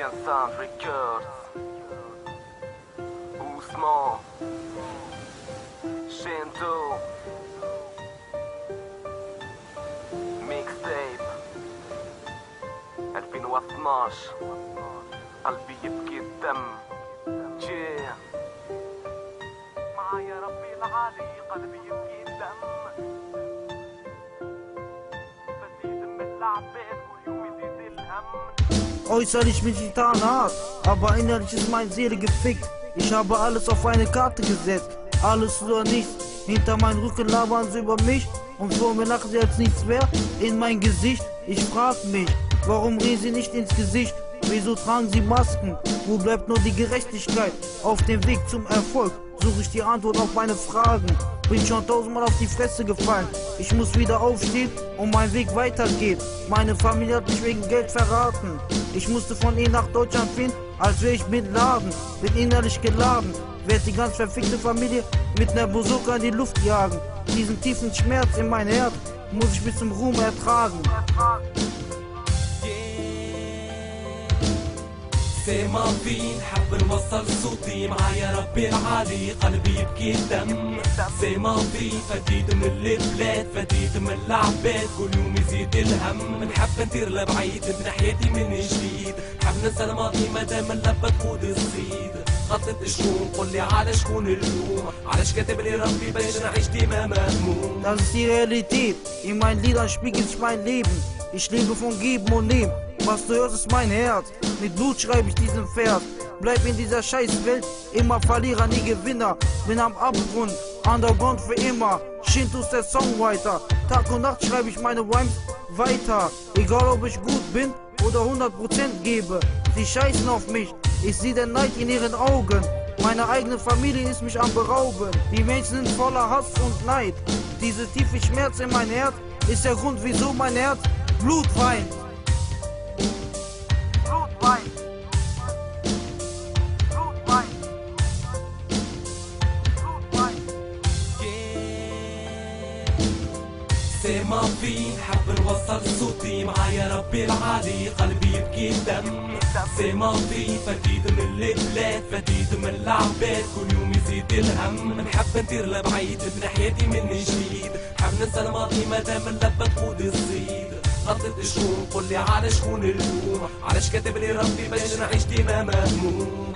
Sound Records, Usman, Shinto, Mixtape 2012. قلبي يبكي الدم جيه معايا ربي العالي، قلبي يبكي الدم بدي دم العباد كل يوم يزيد الهم. Äußerlich bin ich getan hart, aber innerlich ist meine Seele gefickt. Ich habe alles auf eine Karte gesetzt, alles oder nichts. Hinter meinem Rücken labern sie über mich und vor mir lachen sie als nichts wert in mein Gesicht. Ich frag mich, warum reden sie nicht ins Gesicht? Wieso tragen sie Masken? Wo bleibt nur die Gerechtigkeit? Auf dem Weg zum Erfolg suche ich die Antwort auf meine Fragen. Bin schon 1000-mal auf die Fresse gefallen. Ich muss wieder aufstehen und mein Weg weitergeht. Meine Familie hat mich wegen Geld verraten. Ich musste von ihnen nach Deutschland fliehen, als wäre ich Bin Laden. Bin innerlich geladen, werd die ganz verfickte Familie mit ner Bazooka in die Luft jagen. Diesen tiefen Schmerz in mein Herz muss ich bis zum Ruhm ertragen. سما في نحب نوصل صوتي معايا ربي العالي، قلبي يبكي الدم. سما في فديت من البلاد، فديت من العباد، كل يوم يزيد الهم. نحب نطير لبعيد بنحياتي من جديد، نحب ننسى الماضي مادام اللبة تقود الصيد. خطط شكون قولي على شكون اللوم، علاش كاتب لي ربي باش نعيش ديما مهموم. Das ist die Realität, in meinen Liedern spiegelt sich mein Leben. Ich lebe von Geben und Nehmen. Was du hörst, ist mein Herz. Mit Blut schreibe ich diesen Vers. Bleib in dieser Scheißwelt, immer Verlierer, nie Gewinner. Bin am Abgrund, Underground für immer. Shinto ist der Songwriter. Tag und Nacht schreibe ich meine Rhymes weiter. Egal ob ich gut bin oder 100% gebe. Sie scheißen auf mich, ich sehe den Neid in ihren Augen. Meine eigene Familie ist mich am berauben. Die Menschen sind voller Hass und Neid. Diese tiefe Schmerz in mein Herz ist der Grund, wieso mein Herz Blut weint. سما في نحب نوصل صوتي معايا ربي العالي، قلبي يبكي الدم. سما في فديت من البلاد، فديت من العباد، كل يوم يزيد الهم. نحب نطير لبعيد بنحياتي من جديد، نحب ننسى الماضي مادام اللبة تقود الصيد. خطط شكون قولي على شكون اللوم، علاش كاتب لي ربي باش نعيش ديما مهموم.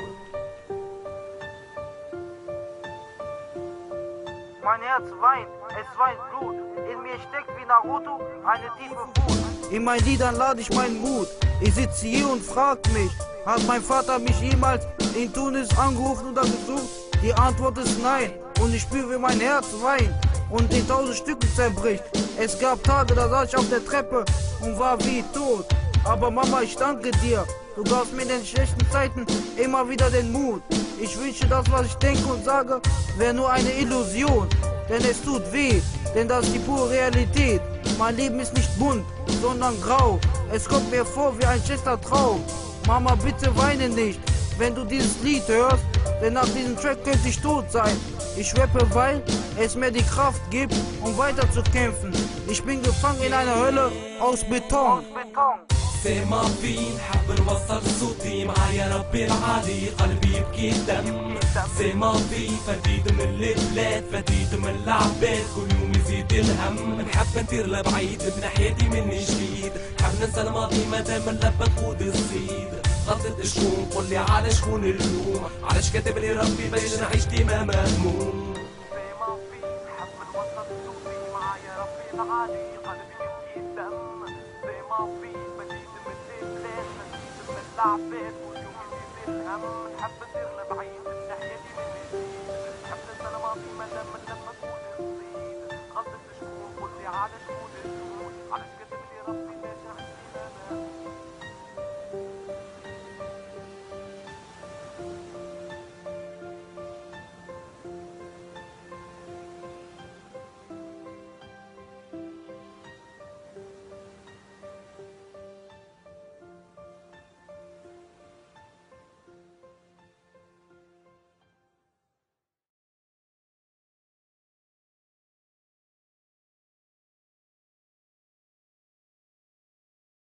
Mein Herz weint, es weint Blut. In mir steckt wie Naruto eine tiefe Wut. In meinen Liedern lade ich meinen Mut. Ich sitze hier und frag mich, hat mein Vater mich jemals in Tunis angerufen oder gesucht? Die Antwort ist nein. Und ich spüre, wie mein Herz weint und in 1000 Stücken zerbricht. Es gab Tage, da saß ich auf der Treppe und war wie tot. Aber Mama, ich danke dir. Du gabst mir in den schlechten Zeiten immer wieder den Mut. Ich wünsche, das, was ich denke und sage, wäre nur eine Illusion. Denn es tut weh, denn das ist die pure Realität. Mein Leben ist nicht bunt, sondern grau. Es kommt mir vor wie ein schlechter Traum. Mama, bitte weine nicht, wenn du dieses Lied hörst, denn nach diesem Track könnte ich tot sein. Ich rappe, weil es mir die Kraft gibt, um weiter zu kämpfen. Ich bin gefangen in einer Hölle aus Beton. سما في نحب نوصل صوتي معايا ربي العالي، قلبي يبكي الدم. سما في فديت من البلاد، فديت من العباد، كل يوم يزيد الهم. نحب نطير لبعيد بنحياتي من جديد، نحب ننسى الماضي مادام اللبة تقود الصيد. خطط شكون قولي على شكون اللوم، علاش كاتب لي ربي باش نعيش ديما مهموم. سما في نحب نوصل صوتي معايا ربي العالي، قلبي يبكي الدم. سما في بديت من البلاد، بديت من العباد، كل يوم يزيد الهم. نحب نطير لبعيد بنحياتي من جديد، نحب ننسى الماضي مادام اللبة تقود الصيد. خطط شكون قولي على شكون اللوم، علاش